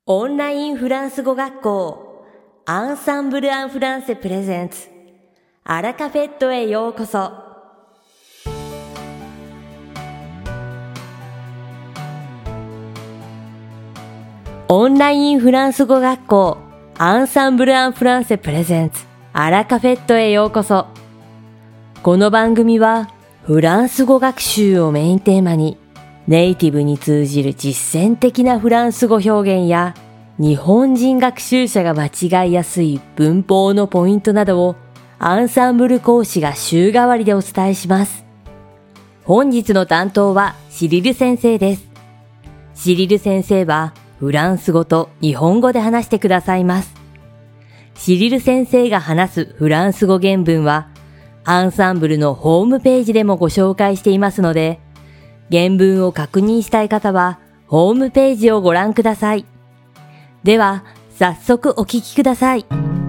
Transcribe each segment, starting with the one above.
オンラインフランス語学校アンサンブル・アン・フランセプレゼンツアラカフェットへようこそ。オンラインフランス語学校アンサンブル・アン・フランセプレゼンツアラカフェットへようこそ。この番組はフランス語学習をメインテーマにネイティブに通じる実践的なフランス語表現や日本人学習者が間違いやすい文法のポイントなどをアンサンブル講師が週替わりでお伝えします。本日の担当はシリル先生です。シリル先生はフランス語と日本語で話してくださいます。シリル先生が話すフランス語原文はアンサンブルのホームページでもご紹介していますので、原文を確認したい方はホームページをご覧ください。では、早速お聞きください。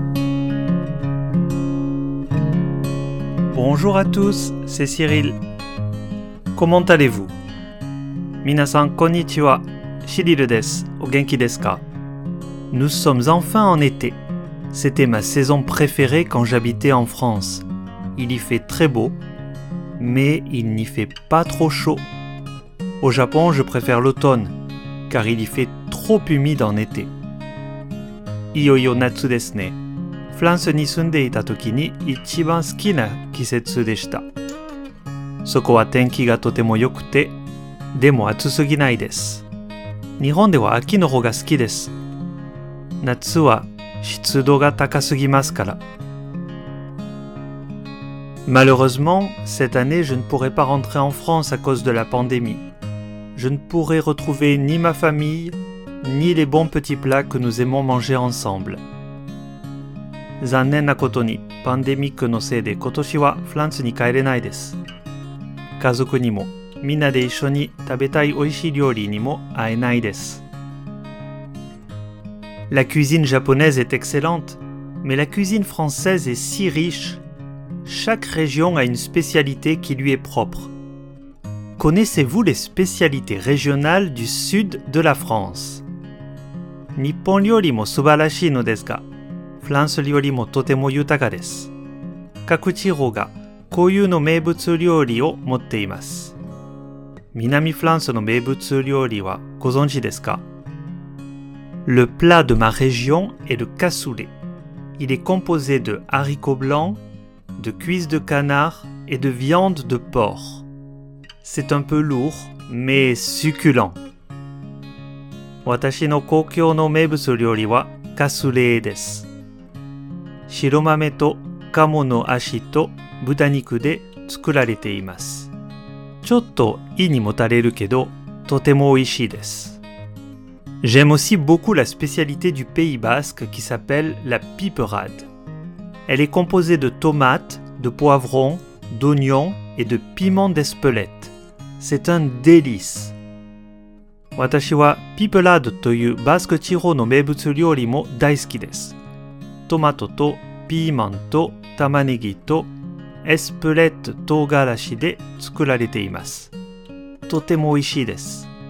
Bonjour à tous, c'est Cyril. Comment allez-vous? 皆さんこんにちは、シリルです。お元気ですか? Nous sommes enfin en été. C'était ma saison préférée quand j'habitais en France. Il y fait très beau, mais il n'y fait pas trop chaud.Au Japon, je préfère l'automne, car il y fait trop humide en été. いよいよ夏ですね。フランスに住んでいた時に一番好きな季節でした。そこは天気がとても良くて、でも暑すぎないです。日本では秋の方が好きです。夏は湿度が高すぎますから。Malheureusement, cette année, je ne pourrai pas rentrer en France à cause de la pandémie.Je ne pourrai retrouver ni ma famille, ni les bons petits plats que nous aimons manger ensemble. 残念なことに、パンデミックのせいで今年はフランスに帰れないです。家族にも、みんなで一緒に食べたい美味しい料理にも会えないです。La cuisine japonaise est excellente, mais la cuisine française est si riche. Chaque région a une spécialité qui lui est propre.Connaissez-vous les spécialités régionales du sud de la France? 日本料理も素晴らしいのですが、フランス料理もとても豊かです。各地方が固有の名物料理を持っています。南フランスの名物料理はご存知ですか? Le plat de ma région est le cassoulet. Il est composé de haricots blancs, de cuisses de canard et de viande de porc.C'est un peu lourd, mais succulent. 私の故郷の名物料理はカスレーです。白豆と鴨の足と豚肉で作られています。ちょっと胃にもたれるけど、とても美味しいです。J'aime aussi beaucoup la spécialité du Pays Basque qui s'appelle la piperade. Elle est composée de tomates, de poivrons, d'oignons et de piments d'Espelette.C'est un délice. 私はピペラードというバスク地方の名物料理も大好きです。トマトとピーマンと玉ねぎとエスプレット唐辛子で作られています。とても美味しいです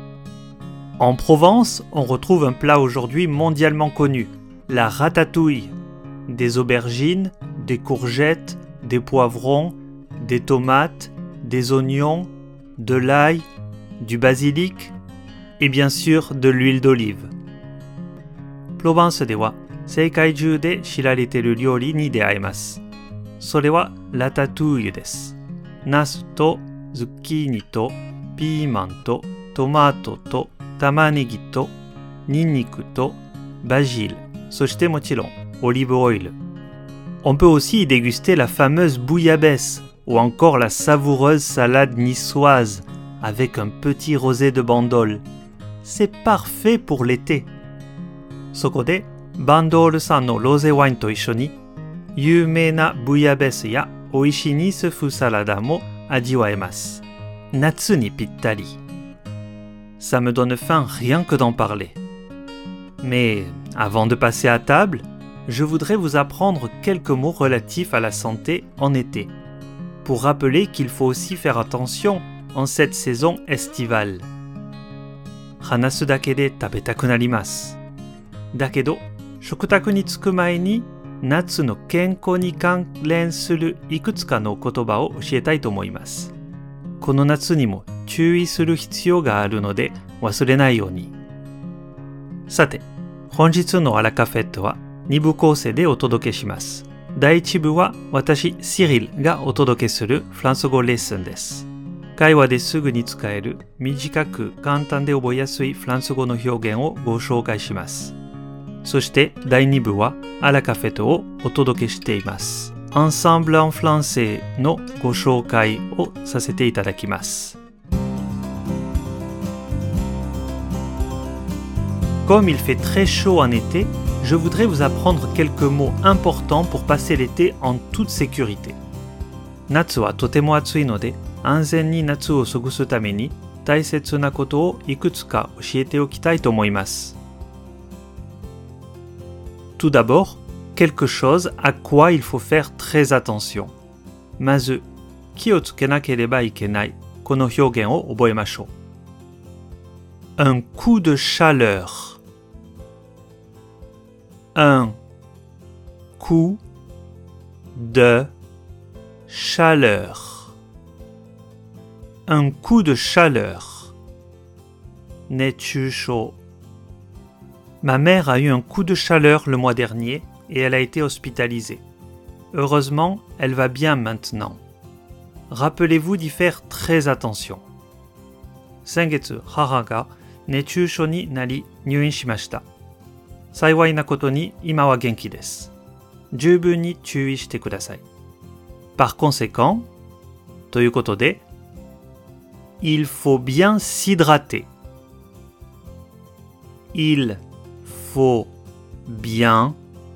。En Provence, on retrouve un plat aujourd'hui mondialement connu, la ratatouille. Des aubergines, des courgettes, des poivrons, des tomates, des oignons,de l'ail, du basilic et bien sûr de l'huile d'olive. プロヴァンスでは世界中で知られている料理に出会えます。それはラタトゥイユです。ナスとズッキーニとピーマンとトマトと玉ねぎとニンニクとバジル、そしてもちろんオリーブオイル。On peut aussi y déguster la fameuse bouillabaisse ou encore la savoureuse salade niçoise avec un petit rosé de bandol. C'est parfait pour l'été. そこでバンドール産のロゼワインと一緒に有名なブイヤベスや美味しいニス風サラダも味わえます。夏にぴったり。Ça me donne faim rien que d'en parler. Mais avant de passer à table, je voudrais vous apprendre quelques mots relatifs à la santé en été.Pour rappeler qu'il faut aussi faire attention en cette saison estivale. 話すだけで食べたくなります。 だけど、食卓に着く前に夏の健康に関連するいくつかの言葉を教えたいと思います。この夏にも注意する必要があるので忘れないように。さて、本日のアラカフェットは2部構成でお届けします。第1部は私、シリルがお届けするフランス語レッスンです。会話ですぐに使える短く簡単で覚えやすいフランス語の表現をご紹介します。そして第2部はアラカフェットをお届けしています。Ensemble en français のご紹介をさせていただきます。Comme il fait très chaud en été, je voudrais vous apprendre quelques mots importants pour passer l'été en toute sécurité. 夏はとても暑いので、安全に夏を過ごすために大切なことをいくつか教えておきたいと思います。Tout d'abord, quelque chose à quoi il faut faire très attention. まず、気をつけなければいけないこの表現を覚えましょう。Un coup de chaleur.Un coup de chaleur. Un coup de chaleur. 熱中症。Ma mère a eu un coup de chaleur le mois dernier et elle a été hospitalisée. Heureusement, elle va bien maintenant. Rappelez-vous d'y faire très attention. 先月、母が熱中症になり入院しました。幸いなことに今は元気です。十分に注意してください。Par conséquent, ということで、il faut bien s'hydrater. Il faut bien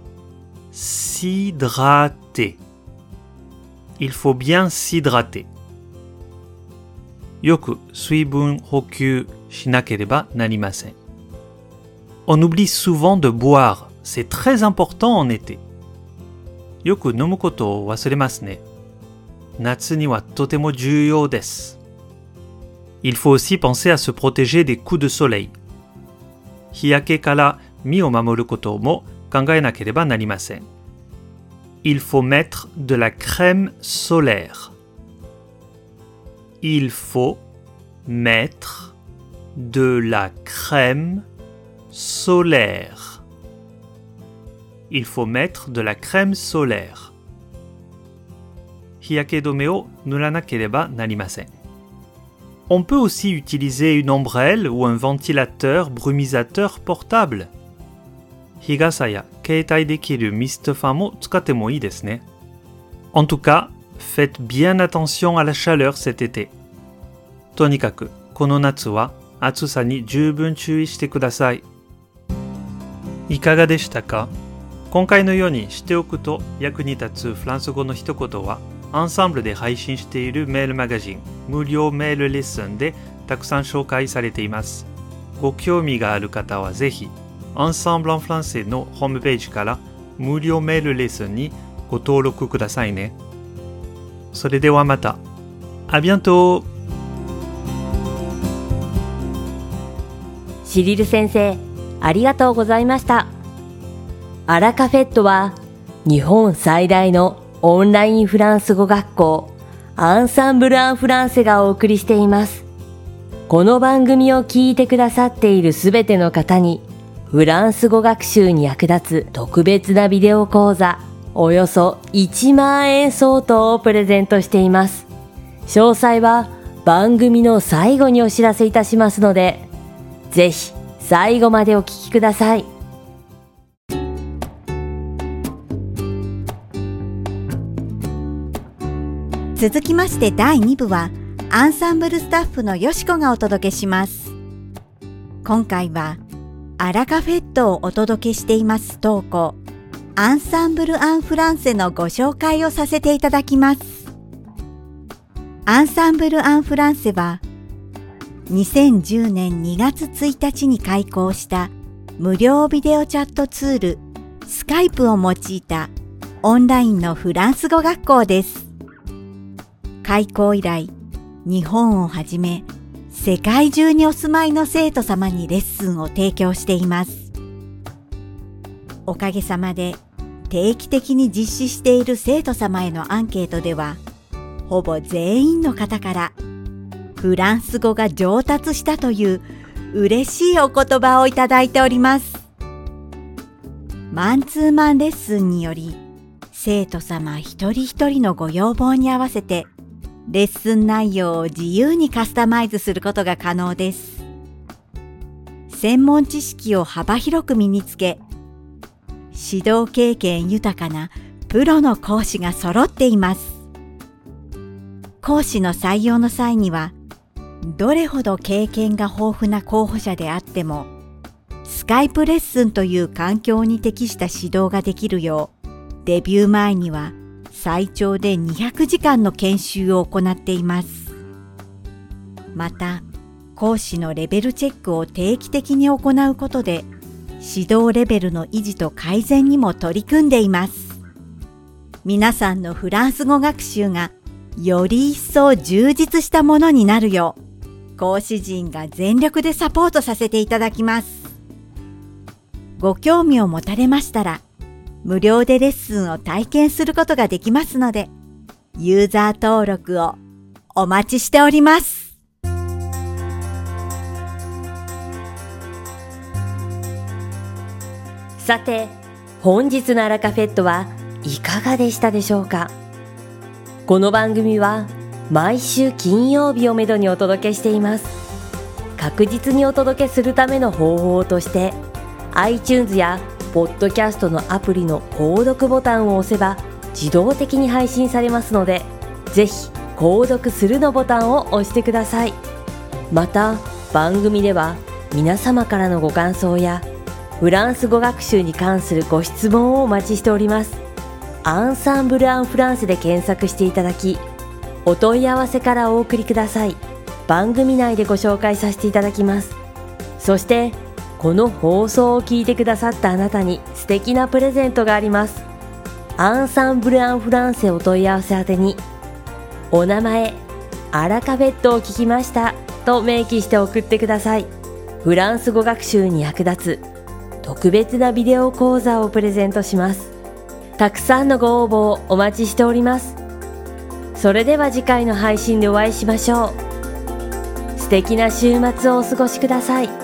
s'hydrater. Il faut bien s'hydrater. よく水分補給しなければなりません。On oublie souvent de boire. C'est très important en été. よく飲むことを忘れますね。夏にはとても重要です。Il faut aussi penser à se protéger des coups de soleil. 日焼けから身を守ることも考えなければなりません。Il faut mettre de la crème solaire. Il faut mettre de la crème solaire. Il faut mettre de la crème solaire. 日焼け止めを塗らなければなりません。On peut aussi utiliser une ombrelle ou un ventilateur brumisateur portable. 日傘や携帯できるミストファンも使ってもいいですね。En tout cas, faites bien attention à la chaleur cet été. とにかく、この夏は暑さに十分注意してください。いかがでしたか？今回のようにしておくと役に立つフランス語の一言は、アンサンブルで配信しているメールマガジン、無料メールレッスンでたくさん紹介されています。ご興味がある方はぜひ、Ensemble en français のホームページから無料メールレッスンにご登録くださいね。それではまた。À bientôt! シリル先生、ありがとうございました。アラカフェットは日本最大のオンラインフランス語学校アンサンブル・アン・フランセがお送りしています。この番組を聞いてくださっているすべての方にフランス語学習に役立つ特別なビデオ講座およそ1万円相当をプレゼントしています。詳細は番組の最後にお知らせいたしますので、ぜひ最後までお聞きください。 続きまして第2部はアンサンブルスタッフのよしこがお届けします。今回はアラカフェットをお届けしています投稿アンサンブル・アン・フランセのご紹介をさせていただきます。アンサンブル・アン・フランセは2010年2月1日に開講した無料ビデオチャットツールスカイプを用いたオンラインのフランス語学校です。開校以来、日本をはじめ世界中にお住まいの生徒様にレッスンを提供しています。 おかげさまで定期的に実施している生徒様へのアンケートでは、ほぼ全員の方からフランス語が上達したという嬉しいお言葉をいただいております。マンツーマンレッスンにより、生徒様一人一人のご要望に合わせてレッスン内容を自由にカスタマイズすることが可能です。専門知識を幅広く身につけ、指導経験豊かなプロの講師が揃っています。講師の採用の際には、どれほど経験が豊富な候補者であっても、スカイプレッスンという環境に適した指導ができるよう、デビュー前には最長で200時間の研修を行っています。また、講師のレベルチェックを定期的に行うことで、指導レベルの維持と改善にも取り組んでいます。皆さんのフランス語学習がより一層充実したものになるよう、講師陣が全力でサポートさせていただきます。ご興味を持たれましたら、無料でレッスンを体験することができますので、ユーザー登録をお待ちしております。 さて、本日のアラカフェットはいかがでしたでしょうか。この番組は毎週金曜日をめどにお届けしています。確実にお届けするための方法として、iTunes やポッドキャストのアプリの購読ボタンを押せば自動的に配信されますので、ぜひ購読するのボタンを押してください。また、番組では皆様からのご感想やフランス語学習に関するご質問をお待ちしております。アンサンブル・アン・フランセで検索していただき、お問い合わせからお送りください。番組内でご紹介させていただきます。そして、この放送を聞いてくださったあなたに素敵なプレゼントがあります。アンサンブル・アン・フランセお問い合わせ宛てに、お名前、アラカフェットを聞きましたと明記して送ってください。フランス語学習に役立つ特別なビデオ講座をプレゼントします。たくさんのご応募をお待ちしております。それでは次回の配信でお会いしましょう。素敵な週末をお過ごしください。